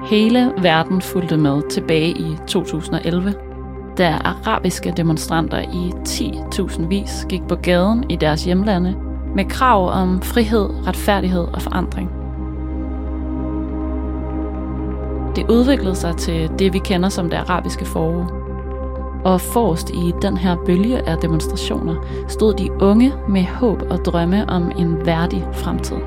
Hele verden fulgte med tilbage i 2011, da arabiske demonstranter i 10.000 vis gik på gaden i deres hjemlande med krav om frihed, retfærdighed og forandring. Det udviklede sig til det, vi kender som det arabiske forår. Og forrest i den her bølge af demonstrationer stod de unge med håb og drømme om en værdig fremtid.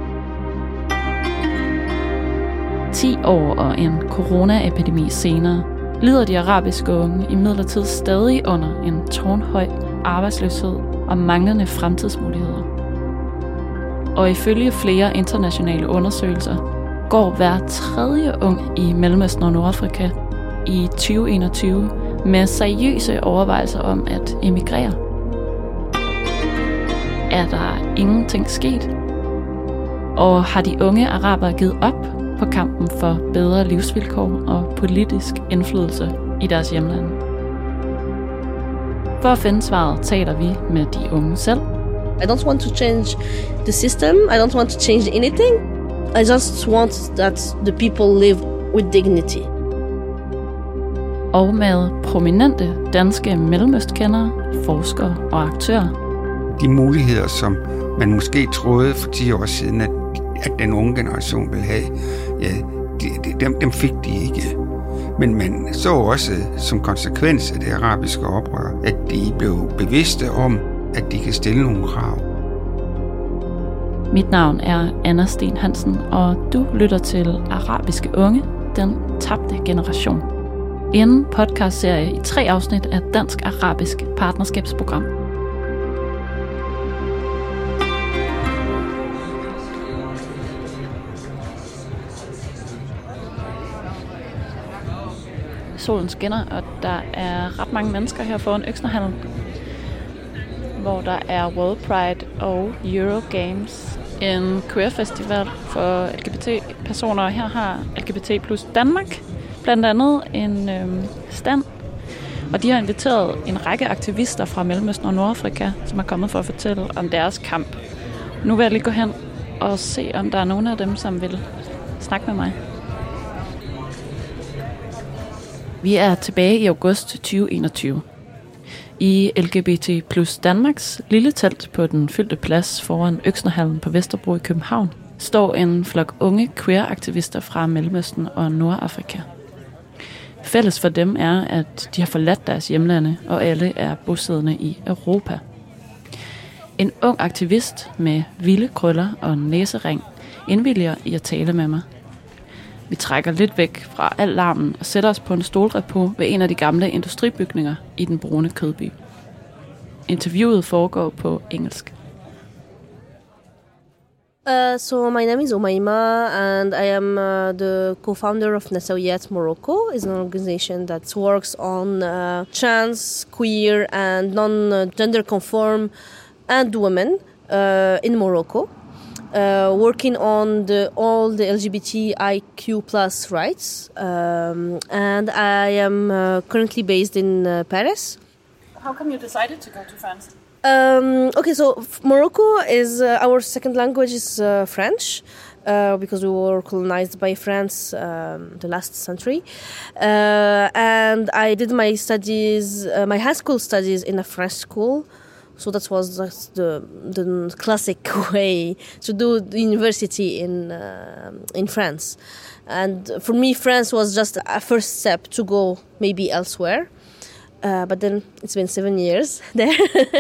10 år og en coronaepidemi senere lider de arabiske unge imidlertid stadig under en tårnhøj arbejdsløshed og manglende fremtidsmuligheder. Og ifølge flere internationale undersøgelser går hver tredje ung i Mellemøsten og Nordafrika i 2021 med seriøse overvejelser om at emigrere. Er der ingenting sket? Og har de unge arabere givet op på kampen for bedre livsvilkår og politisk indflydelse i deres hjemlande? For at finde svaret taler vi med de unge selv. I don't want to change the system. I don't want to change anything. I just want that the people live with dignity. Og med prominente danske mellemøstkendere, forskere og aktører. De muligheder, som man måske troede for 10 år siden, at den unge generation ville have, ja, dem fik de ikke. Men man så også som konsekvens af det arabiske oprør, at de blev bevidste om, at de kan stille nogle krav. Mit navn er Anna Sten Hansen, og du lytter til Arabiske Unge, den tabte generation. En podcastserie i 3 afsnit af Dansk-Arabisk Partnerskabsprogram. Solen skinner, og der er ret mange mennesker her foran Øksnehallen, hvor der er World Pride og Eurogames, en queer-festival for LGBT-personer. Her har LGBT plus Danmark blandt andet en stand, og de har inviteret en række aktivister fra Mellemøsten og Nordafrika, som er kommet for at fortælle om deres kamp. Nu vil jeg lige gå hen og se, om der er nogen af dem, som vil snakke med mig. Vi er tilbage i august 2021. I LGBT plus Danmarks lille telt på den fyldte plads foran Øksnehallen på Vesterbro i København står en flok unge queer-aktivister fra Mellemøsten og Nordafrika. Fælles for dem er, at de har forladt deres hjemlande, og alle er bosiddende i Europa. En ung aktivist med vilde krøller og næsering indvilliger i at tale med mig. Vi trækker lidt væk fra al larmen og sætter os på en stolrepo ved en af de gamle industribygninger i den brune kødby. Interviewet foregår på engelsk. So my name is Umayma, and I am the co-founder of Nasawiyat Morocco. It's an organization that works on trans, queer, and non-gender conform and women in Morocco. Working on all the LGBTIQ plus rights, and I am currently based in Paris. How come you decided to go to France? Okay, so Morocco is our second language is French, because we were colonized by France the last century, and I did my studies, my high school studies in a French school. So that was the classic way to do the university in France. And for me, France was just a first step to go maybe elsewhere. But then it's been 7 years there.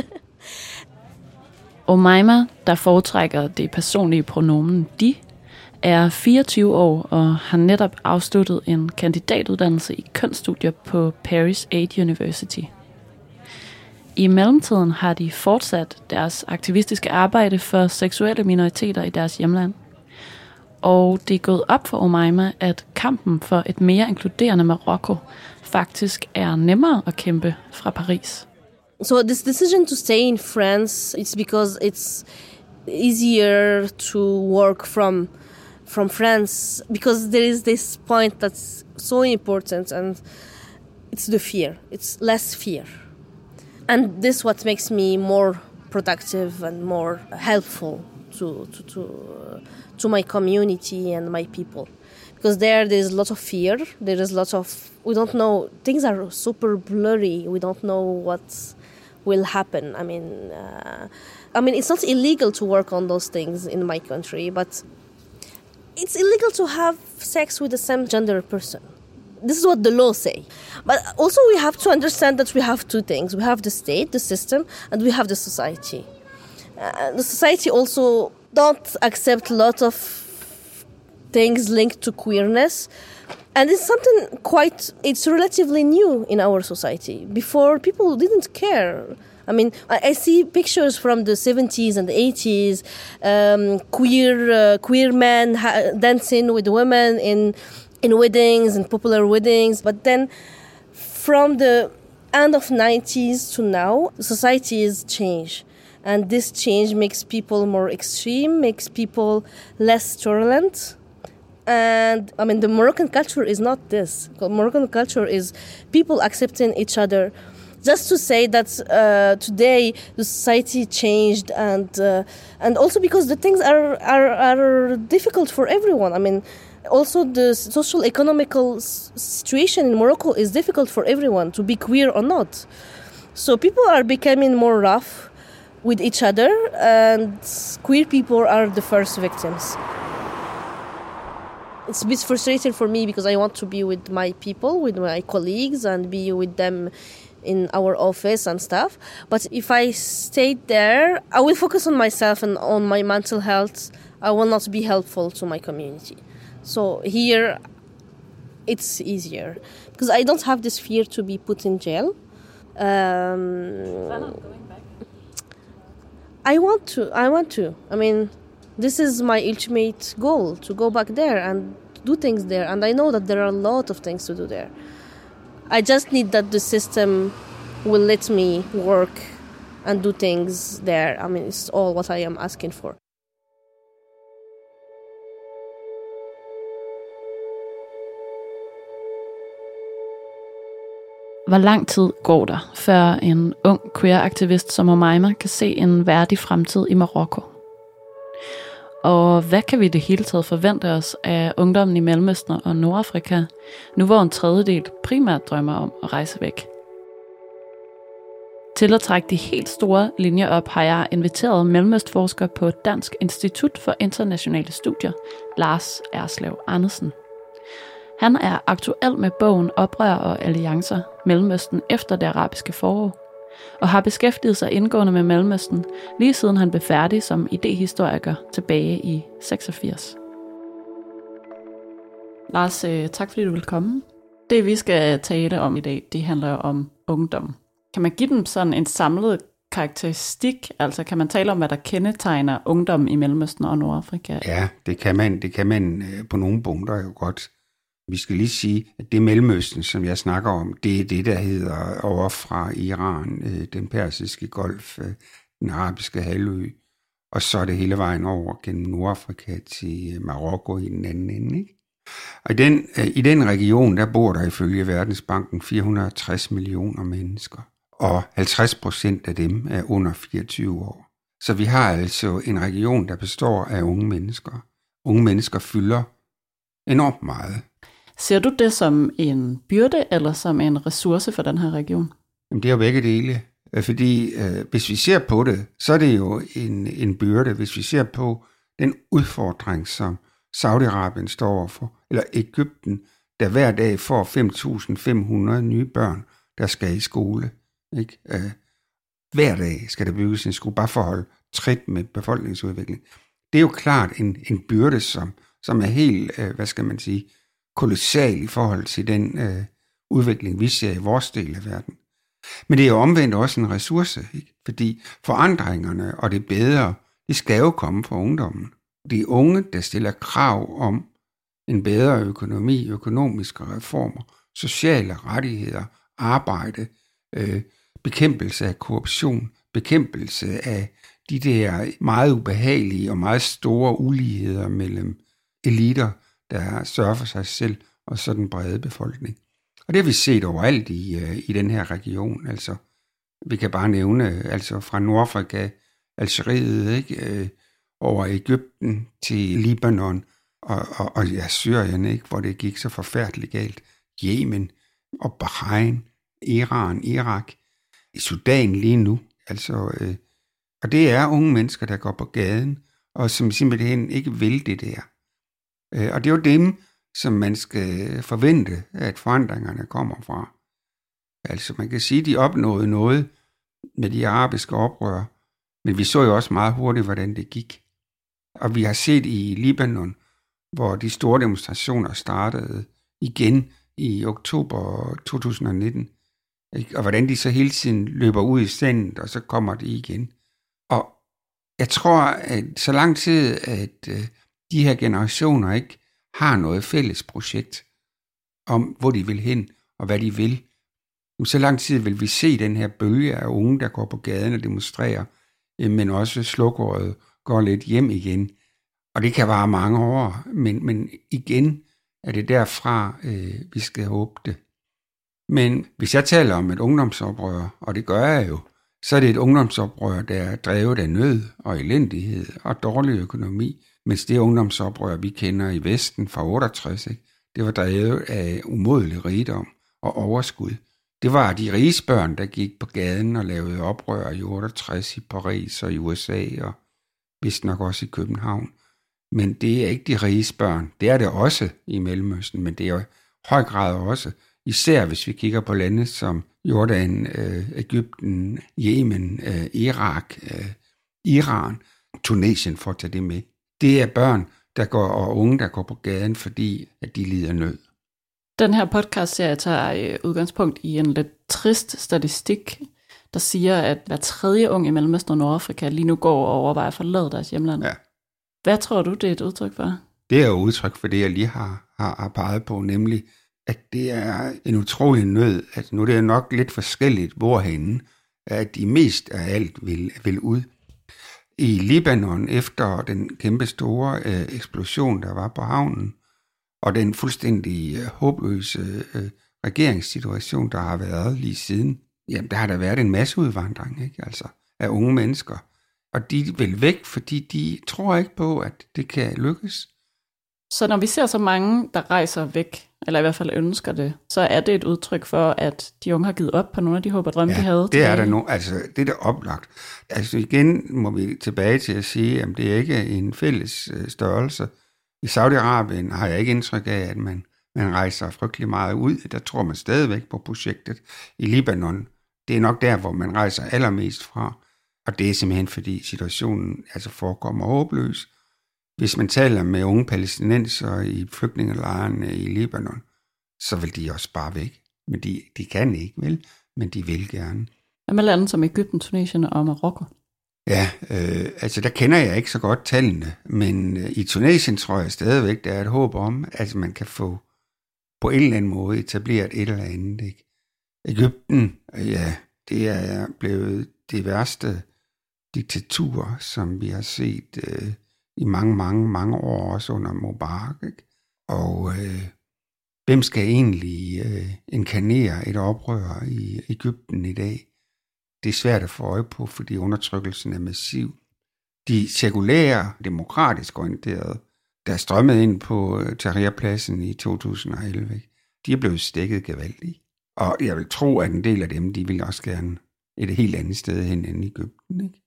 Umayma, der foretrækker det personlige pronomen de, er 24 år og har netop afsluttet en kandidatuddannelse i kønsstudier på Paris 8 University. I mellemtiden har de fortsat deres aktivistiske arbejde for seksuelle minoriteter i deres hjemland. Og det er gået op for Umayma, at kampen for et mere inkluderende Marokko faktisk er nemmere at kæmpe fra Paris. So this decision to stay in France, it's because it's easier to work from France, because there is this point that's so important, and it's the fear. It's less fear. And this what makes me more productive and more helpful to my community and my people, because there's a lot of fear. There is lots of, we don't know, things are super blurry. We don't know what will happen. I mean, it's not illegal to work on those things in my country, but it's illegal to have sex with the same gender person. This is what the law say. But also we have to understand that we have two things. We have the state, the system, and we have the society. The society also don't accept a lot of things linked to queerness. And it's something it's relatively new in our society. Before, people didn't care. I mean, I see pictures from the 70s and the 80s, queer men dancing with women in weddings and popular weddings. But then from the end of 90s to now, society has changed. And this change makes people more extreme, makes people less tolerant. And I mean, the Moroccan culture is not this. Moroccan culture is people accepting each other. Just to say that today the society changed, and also because the things are difficult for everyone. I mean, also the social economical situation in Morocco is difficult for everyone, to be queer or not. So people are becoming more rough with each other, and queer people are the first victims. It's a bit frustrating for me because I want to be with my people, with my colleagues, and be with them in our office and stuff. But if I stayed there, I will focus on myself and on my mental health. I will not be helpful to my community. So here, it's easier because I don't have this fear to be put in jail. I want to. I mean, this is my ultimate goal, to go back there and do things there. And I know that there are a lot of things to do there. I just need that the system will let me work and do things there. I mean, it's all what I am asking for. Hvor lang tid går der, før en ung queer-aktivist som Omaima kan se en værdig fremtid i Marokko? Og hvad kan vi i det hele taget forvente os af ungdommen i Mellemøsten og Nordafrika, nu hvor en tredjedel primært drømmer om at rejse væk? Til at trække de helt store linjer op, har jeg inviteret mellemøstforsker på Dansk Institut for Internationale Studier, Lars Erslev Andersen. Han er aktuel med bogen Oprør og alliancer, Mellemøsten efter det arabiske forår, og har beskæftiget sig indgående med Mellemøsten, lige siden han blev færdig som idehistoriker tilbage i 86. Lars, tak fordi du vil komme. Det vi skal tale om i dag, det handler om ungdom. Kan man give dem sådan en samlet karakteristik? Altså kan man tale om, hvad der kendetegner ungdom i Mellemøsten og Nordafrika? Ja, det kan man på nogle punkter jo godt. Vi skal lige sige, at det Mellemøsten, som jeg snakker om, det er det, der hedder over fra Iran, den persiske golf, den arabiske halvø, og så er det hele vejen over gennem Nordafrika til Marokko i den anden ende. Ikke? Og i den region, der bor der ifølge Verdensbanken 460 millioner mennesker, og 50% af dem er under 24 år. Så vi har altså en region, der består af unge mennesker. Unge mennesker fylder enormt meget. Ser du det som en byrde eller som en ressource for den her region? Jamen, det er jo begge dele. Fordi hvis vi ser på det, så er det jo en byrde. Hvis vi ser på den udfordring, som Saudi-Arabien står overfor, eller Egypten, der hver dag får 5.500 nye børn, der skal i skole. Ikke? Hver dag skal der bygges en skole, bare for at holde trit med befolkningsudvikling. Det er jo klart en byrde, som er helt, kolossal i forhold til den udvikling, vi ser i vores del af verden. Men det er jo omvendt også en ressource, ikke? Fordi forandringerne og det bedre, det skal jo komme fra ungdommen. De unge, der stiller krav om en bedre økonomi, økonomiske reformer, sociale rettigheder, arbejde, bekæmpelse af korruption, bekæmpelse af de der meget ubehagelige og meget store uligheder mellem eliter, der sørger for sig selv, og så den brede befolkning. Og det har vi set overalt i den her region. Altså, vi kan bare nævne altså fra Nordafrika, Algeriet, ikke? Over Egypten til Libanon, og ja, Syrien, ikke, hvor det gik så forfærdeligt galt. Yemen og Bahrain, Iran, Irak, i Sudan lige nu. Altså, og det er unge mennesker, der går på gaden, og som simpelthen ikke vil det der. Og det er jo dem, som man skal forvente, at forandringerne kommer fra. Altså man kan sige, at de opnåede noget med de arabiske oprør, men vi så jo også meget hurtigt, hvordan det gik. Og vi har set i Libanon, hvor de store demonstrationer startede igen i oktober 2019, og hvordan de så hele tiden løber ud i sandet, og så kommer de igen. Og jeg tror, at så lang tid, at de her generationer ikke har noget fælles projekt om, hvor de vil hen og hvad de vil, så lang tid vil vi se den her bølge af unge, der går på gaden og demonstrerer, men også slukåret går lidt hjem igen. Og det kan vare mange år, men igen er det derfra, vi skal håbe det. Men hvis jeg taler om et ungdomsoprør, og det gør jeg jo, så er det et ungdomsoprør, der er drevet af nød og elendighed og dårlig økonomi, mens det ungdomsoprør, vi kender i Vesten fra 68, ikke? Det var drevet af umodelig rigdom og overskud. Det var de riges børn, der gik på gaden og lavede oprør i 68 i Paris og i USA og vist nok også i København. Men det er ikke de riges børn. Det er det også i Mellemøsten, men det er i høj grad også, især hvis vi kigger på lande som Jordan, Egypten, Yemen, Irak, Iran, Tunesien, for at tage det med. Det er børn, og unge, der går på gaden, fordi at de lider nød. Den her podcast-serie tager udgangspunkt i en lidt trist statistik, der siger, at hver tredje ung i Mellemøsten og Nordafrika lige nu går og overvejer at forlade deres hjemland. Ja. Hvad tror du, det er et udtryk for? Det er jo udtryk for det, jeg lige har peget på, nemlig, at det er en utrolig nød, at nu det er nok lidt forskelligt, hvorhenne, at de mest af alt vil ud. I Libanon, efter den kæmpe store eksplosion, der var på havnen, og den fuldstændig håbløse regeringssituation, der har været lige siden, jamen der har der været en masse udvandring, ikke? Altså, af unge mennesker. Og de vil væk, fordi de tror ikke på, at det kan lykkes. Så når vi ser så mange, der rejser væk, eller i hvert fald ønsker det, så er det et udtryk for, at de unge har givet op på nogle af de håb og drømme, de havde. Det er der nu. Altså, det er der oplagt. Altså igen må vi tilbage til at sige, at det er ikke en fælles størrelse. I Saudi-Arabien har jeg ikke indtryk af, at man rejser frygtelig meget ud. Der tror man stadigvæk på projektet. I Libanon, det er nok der, hvor man rejser allermest fra. Og det er simpelthen, fordi situationen altså forekommer håbløs. Hvis man taler med unge palæstinenser i flygtningelejrene i Libanon, så vil de også bare væk. Men de kan ikke, vel? Men de vil gerne. Hvad med lande som Egypten, Tunesien og Marokko? Ja, altså der kender jeg ikke så godt tallene, men i Tunesien tror jeg stadigvæk, der er et håb om, at man kan få på en eller anden måde etableret et eller andet. Ikke? Egypten, ja, det er blevet det værste diktatur, som vi har set i mange år, også under Mubarak. Ikke? Og hvem skal egentlig inkarnere et oprør i Egypten i dag? Det er svært at få øje på, fordi undertrykkelsen er massiv. De sekulære, demokratisk orienterede, der strømmede ind på Tahrirpladsen i 2011, ikke? De er blevet stikket gevaldigt. Og jeg vil tro, at en del af dem, de vil også gerne et helt andet sted hen end i Egypten, ikke?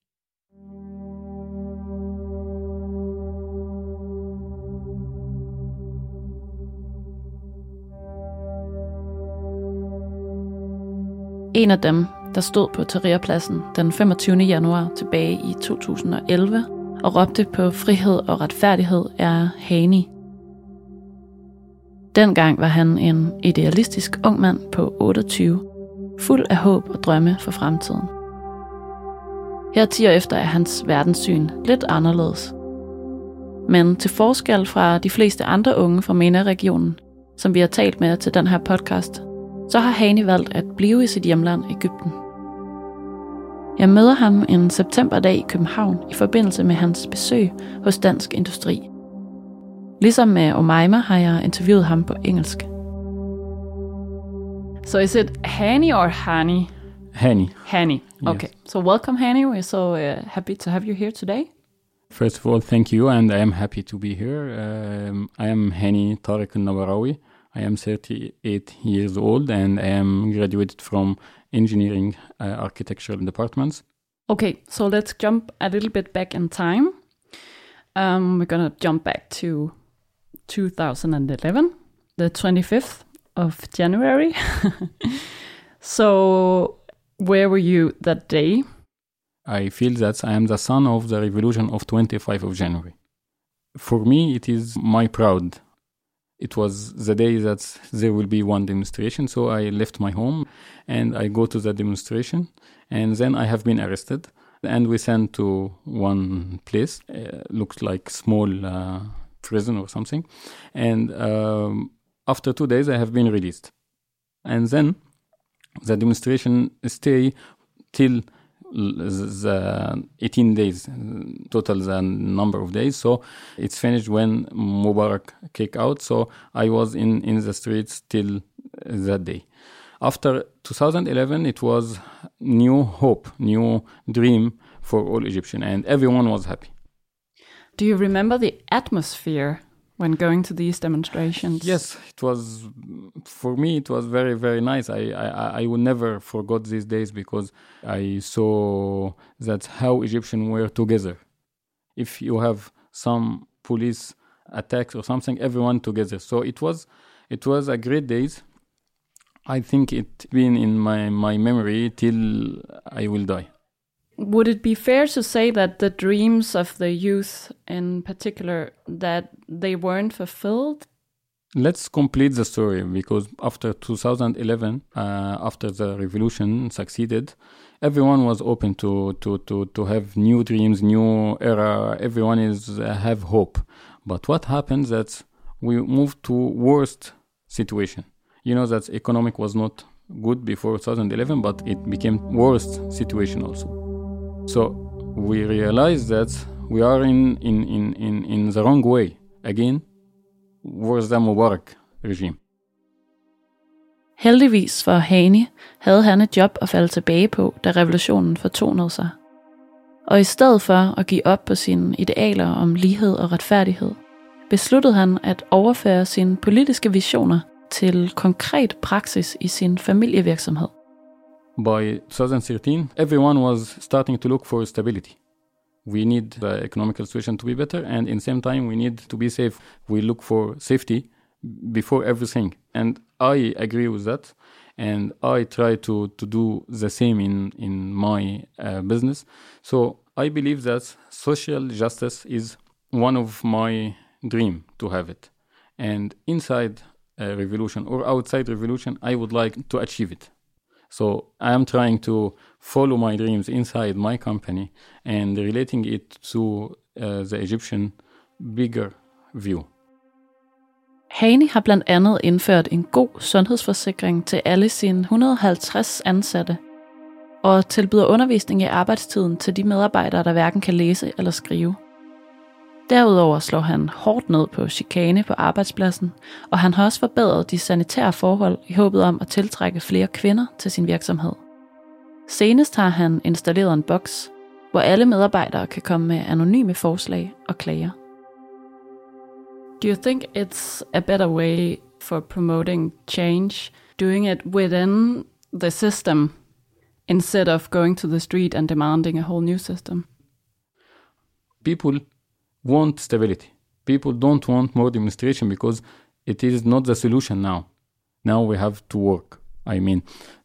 En af dem, der stod på Tahrirpladsen den 25. januar tilbage i 2011 og råbte på frihed og retfærdighed, er Hani. Dengang var han en idealistisk ung mand på 28, fuld af håb og drømme for fremtiden. Her 10 år efter er hans verdenssyn lidt anderledes. Men til forskel fra de fleste andre unge fra MENA-regionen, som vi har talt med til den her podcast, så har Hani valgt at blive i sit hjemland Egypten. Jeg møder ham en septemberdag i København i forbindelse med hans besøg hos Dansk Industri. Ligesom med Omaima har jeg interviewet ham på engelsk. So is it Hani or Hani? Hani. Hani. Okay. Yes. So welcome, Hani. We're so happy to have you here today. First of all, thank you, and I am happy to be here. I am Hani Tariq Al-Nabarawi. I am 38 years old, and I am graduated from engineering architectural departments. Okay, so let's jump a little bit back in time. We're going to jump back to 2011, the 25th of January. So where were you that day? I feel that I am the son of the revolution of 25th of January. For me, it is my proud. It was the day that there will be one demonstration, so I left my home and I go to the demonstration, and then I have been arrested and we sent to one place, looks like small prison or something, and after 2 days I have been released. And then the demonstration stay till the 18 days, total the number of days. So it's finished when Mubarak kicked out. So I was in the streets till that day. After 2011, it was new hope, new dream for all Egyptians, and everyone was happy. Do you remember the atmosphere when going to these demonstrations? Yes, it was, for me, it was very, very nice. I will never forget these days because I saw that how Egyptians were together. If you have some police attacks or something, everyone together. So it was a great days. I think it been in my memory till I will die. Would it be fair to say that the dreams of the youth in particular, that they weren't fulfilled? Let's complete the story, because after 2011, after the revolution succeeded, everyone was open to have new dreams, new era. Everyone have hope. But what happened that we moved to worst situation. You know that economic was not good before 2011, but it became worst situation also. So we realized that we are in the wrong way again, worse than Mubarak regime. Heldigvis for Hani havde han et job at falde tilbage på, da revolutionen fortonede sig. Og i stedet for at give op på sine idealer om lighed og retfærdighed, besluttede han at overføre sine politiske visioner til konkret praksis i sin familievirksomhed. By 2013, everyone was starting to look for stability. We need the economical situation to be better, and in the same time, we need to be safe. We look for safety before everything. And I agree with that, and I try to do the same in my business. So I believe that social justice is one of my dream to have it. And inside a revolution or outside revolution, I would like to achieve it. So I am trying to follow my dreams inside my company and relating it to the Egyptian bigger view. Hani har blandt andet indført en god sundhedsforsikring til alle sine 150 ansatte, og tilbyder undervisning i arbejdstiden til de medarbejdere, der hverken kan læse eller skrive. Derudover slår han hårdt ned på chikane på arbejdspladsen, og han har også forbedret de sanitære forhold i håbet om at tiltrække flere kvinder til sin virksomhed. Senest har han installeret en boks, hvor alle medarbejdere kan komme med anonyme forslag og klager. Do you think it's a better way for promoting change, doing it within the system, instead of going to the street and demanding a whole new system? People want stability. People don't want more demonstration because it is not the solution now. Now we have to work. I mean,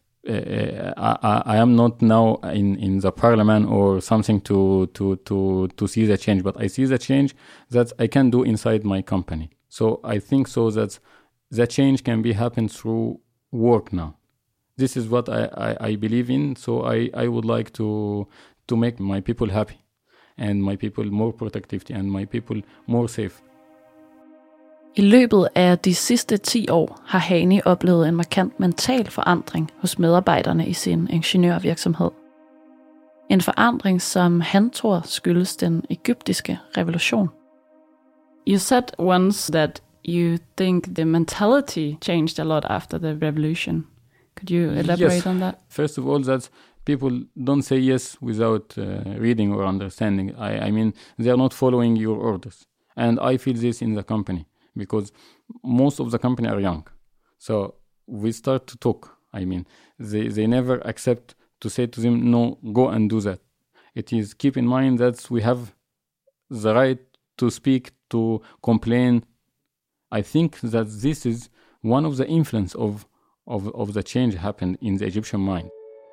I am not now in the parliament or something to see the change, but I see the change that I can do inside my company. So I think so that the change can be happen through work now. This is what I believe in. So I would like to make my people happy, and my people more productivity, and my people more safe. I løbet af de sidste 10 år har Hani oplevet en markant mental forandring hos medarbejderne i sin ingeniørvirksomhed. En forandring, som han tror skyldes den egyptiske revolution. You said once that you think the mentality changed a lot after the revolution. Could you elaborate on that? First of all, that people don't say yes without reading or understanding. I mean, they are not following your orders. And I feel this in the company because most of the company are young. So we start to talk. I mean, they never accept to say to them, no, go and do that. It is keep in mind that we have the right to speak, to complain. I think that this is one of the influence of the change happened in the Egyptian mind.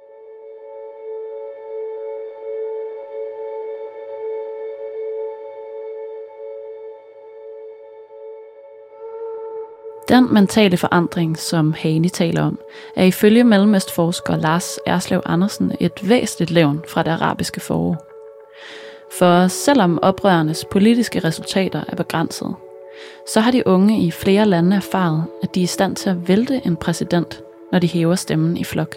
Den mentale forandring, som Hani taler om, er ifølge mellemøstforsker Lars Erslev Andersen et væsentligt levn fra det arabiske forår. For selvom oprørernes politiske resultater er begrænsede, så har de unge i flere lande erfaret, at de er i stand til at vælte en præsident, når de hæver stemmen i flok.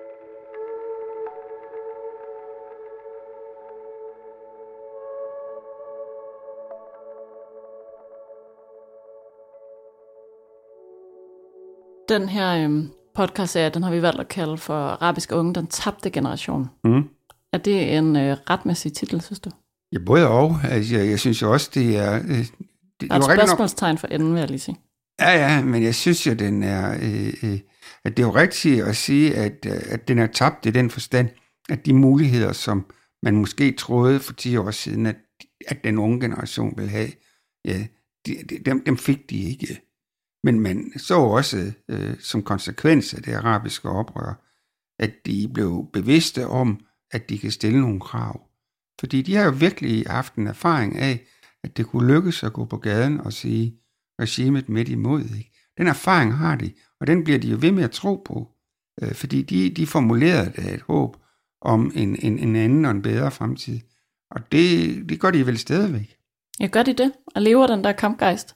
Den her podcast-serie, den har vi valgt at kalde for Arabiske Unge, den tabte generation. Mm. Er det en retmæssig titel, synes du? Ja, både og. Altså, jeg synes jo også, det er... Der er et spørgsmålstegn for enden, vil jeg lige sige. Ja, men jeg synes jo, den er... at det er jo rigtigt at sige, at den er tabt i den forstand, at de muligheder, som man måske troede for 10 år siden, at den unge generation ville have, ja, dem fik de ikke. Men man så også som konsekvens af det arabiske oprør, at de blev bevidste om, at de kan stille nogle krav. Fordi de har jo virkelig haft en erfaring af, at det kunne lykkes at gå på gaden og sige regimet midt imod. Ikke? Den erfaring har de, og den bliver de jo ved med at tro på. Fordi de formulerede et håb om en anden og en bedre fremtid. Og det gør de vel stadigvæk. Ja, gør de det? Og lever den der kampgejst?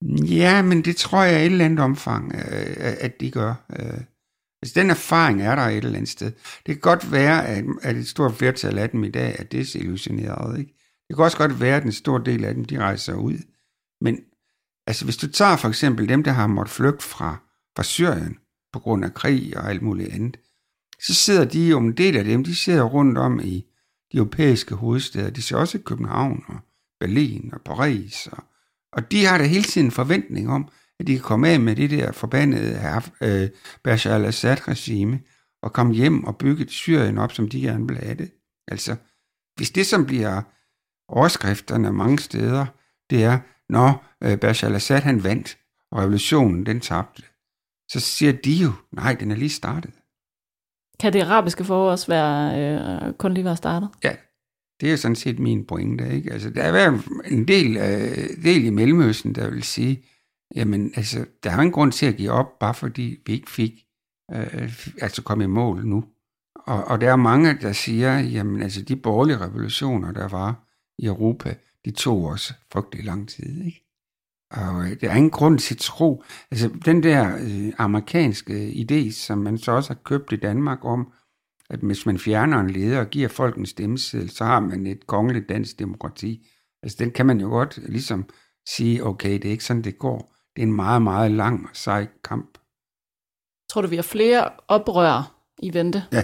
Ja, men det tror jeg i et eller andet omfang, at de gør. Altså, den erfaring er der et eller andet sted. Det kan godt være, at et stort flertal af dem i dag er desillusioneret. Ikke? Det kan også godt være, at en stor del af dem, de rejser ud. Men altså, hvis du tager for eksempel dem, der har måttet flygte fra Syrien på grund af krig og alt muligt andet, så sidder de jo, en del af dem, de sidder rundt om i de europæiske hovedsteder. De ser også i København og Berlin og Paris. Og de har da hele tiden en forventning om, at de kan komme af med det der forbandede Bashar al-Assad-regime og komme hjem og bygge et Syrien op, som de gerne vil have det. Altså, hvis det som bliver overskrifterne mange steder, det er, når Bashar al-Assad han vandt, og revolutionen den tabte, så siger de jo, nej, den er lige startet. Kan det arabiske forår også være kun lige være startet? Ja, det er jo sådan set min pointe, ikke? Altså, der er været en del i Mellemøsten, der vil sige, jamen, altså, der er en grund til at give op, bare fordi vi ikke fik komme i mål nu. Og der er mange, der siger, jamen, altså, de borgerlige revolutioner, der var i Europa, de tog også frygtelig lang tid, ikke? Og der er ingen grund til at tro, altså, den der amerikanske idé, som man så også har købt i Danmark om, at hvis man fjerner en leder og giver folk en stemmeseddel, så har man et kongeligt dansk demokrati. Altså, den kan man jo godt ligesom sige, okay, det er ikke sådan, det går. Det er en meget, meget lang og sej kamp. Tror du, vi har flere oprør i vente? Ja,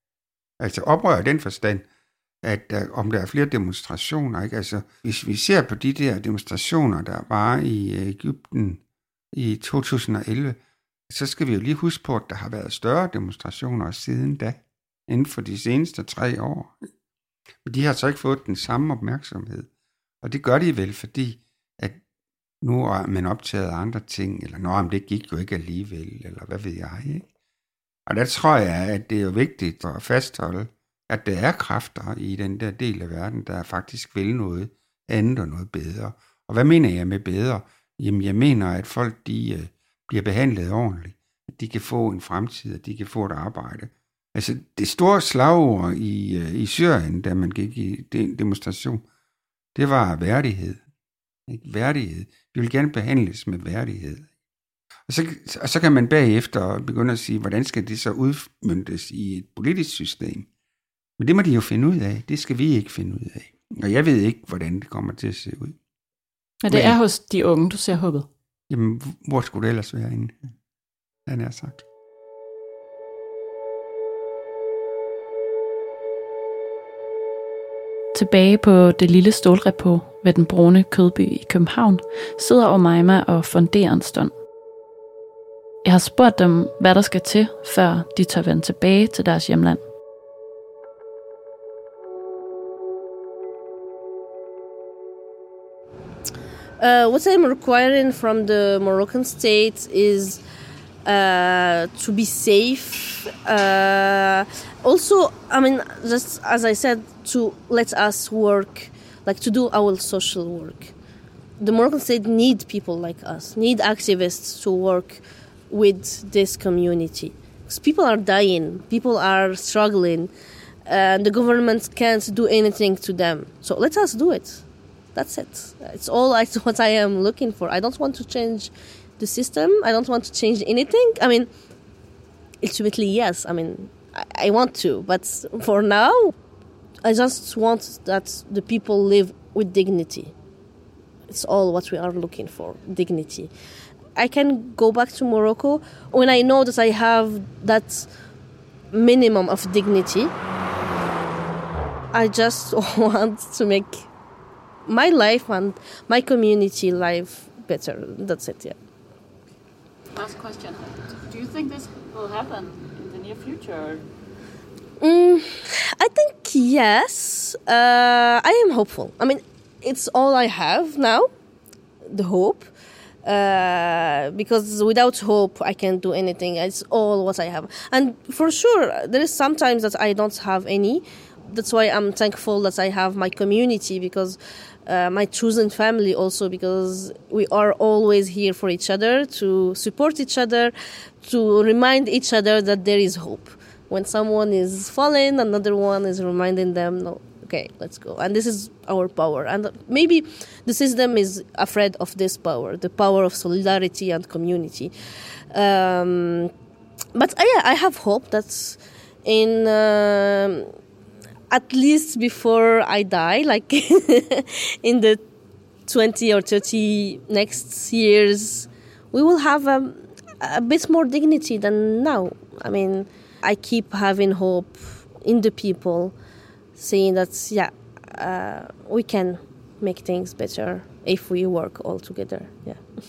altså oprør i den forstand, at om der er flere demonstrationer, ikke? Altså, hvis vi ser på de der demonstrationer, der var i Egypten i 2011, så skal vi jo lige huske på, at der har været større demonstrationer siden da, inden for de seneste 3 år. Men de har så ikke fået den samme opmærksomhed. Og det gør de vel, fordi at nu er man optaget af andre ting, eller når det gik jo ikke alligevel, eller hvad ved jeg, ikke? Og der tror jeg, at det er jo vigtigt at fastholde, at der er kræfter i den der del af verden, der faktisk vil noget andet og noget bedre. Og hvad mener jeg med bedre? Jamen, jeg mener, at folk de bliver behandlet ordentligt, at de kan få en fremtid, at de kan få et arbejde. Altså, det store slagord i Syrien, da man gik i demonstration, det var værdighed. Ikke? Værdighed. Vi vil gerne behandles med værdighed. Og så kan man bagefter begynde at sige, hvordan skal det så udmøntes i et politisk system? Men det må de jo finde ud af. Det skal vi ikke finde ud af. Og jeg ved ikke, hvordan det kommer til at se ud. Men det er hos de unge, du ser håbet? Jamen, hvor skulle det ellers være inde? Han er sagt. Tilbage på det lille stålrepå ved den brune kødby i København sidder Omaima og funderer en stund. Jeg har spurgt dem, hvad der skal til, før de tør vende tilbage til deres hjemland. What I'm requiring from the Moroccan state is to be safe. Also, I mean, just as I said, to let us work, like to do our social work. The Moroccan state need people like us, need activists to work with this community. Because people are dying, people are struggling, and the government can't do anything to them. So let us do it. That's it. It's all what I am looking for. I don't want to change the system. I don't want to change anything. I mean, ultimately, yes. I mean, I want to. But for now, I just want that the people live with dignity. It's all what we are looking for, dignity. I can go back to Morocco when I know that I have that minimum of dignity. I just want to make my life and my community life better. That's it, yeah. Last question. Do you think this will happen in the near future? I think yes. I am hopeful. I mean, it's all I have now, the hope. Because without hope, I can't do anything. It's all what I have. And for sure, there is sometimes that I don't have any. That's why I'm thankful that I have my community, because my chosen family also, because we are always here for each other, to support each other, to remind each other that there is hope. When someone is falling, another one is reminding them, no, okay, let's go. And this is our power. And maybe the system is afraid of this power, the power of solidarity and community. But I have hope that in at least before I die, like in the 20 or 30 next years, we will have a bit more dignity than now. I mean, I keep having hope in the people, saying that, we can make things better if we work all together. Yeah.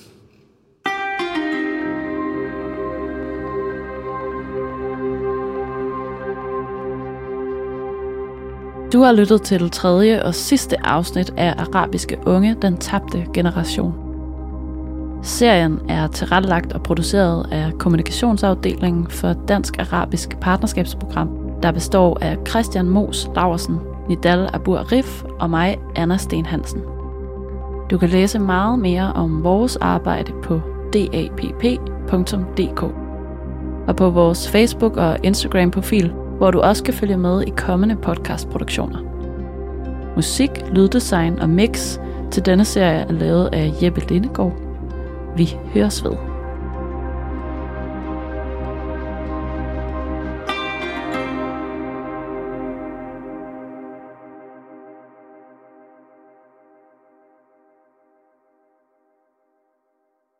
Du har lyttet til tredje og sidste afsnit af Arabiske Unge, den tabte generation. Serien er tilrettelagt og produceret af kommunikationsafdelingen for Dansk Arabisk Partnerskabsprogram, der består af Christian Moos Laursen, Nidal Abu Arif og mig, Anna Sten Hansen. Du kan læse meget mere om vores arbejde på dapp.dk og på vores Facebook- og Instagram-profil, hvor du også kan følge med i kommende podcastproduktioner. Musik, lyddesign og mix til denne serie er lavet af Jeppe Lindegaard. Vi høres ved.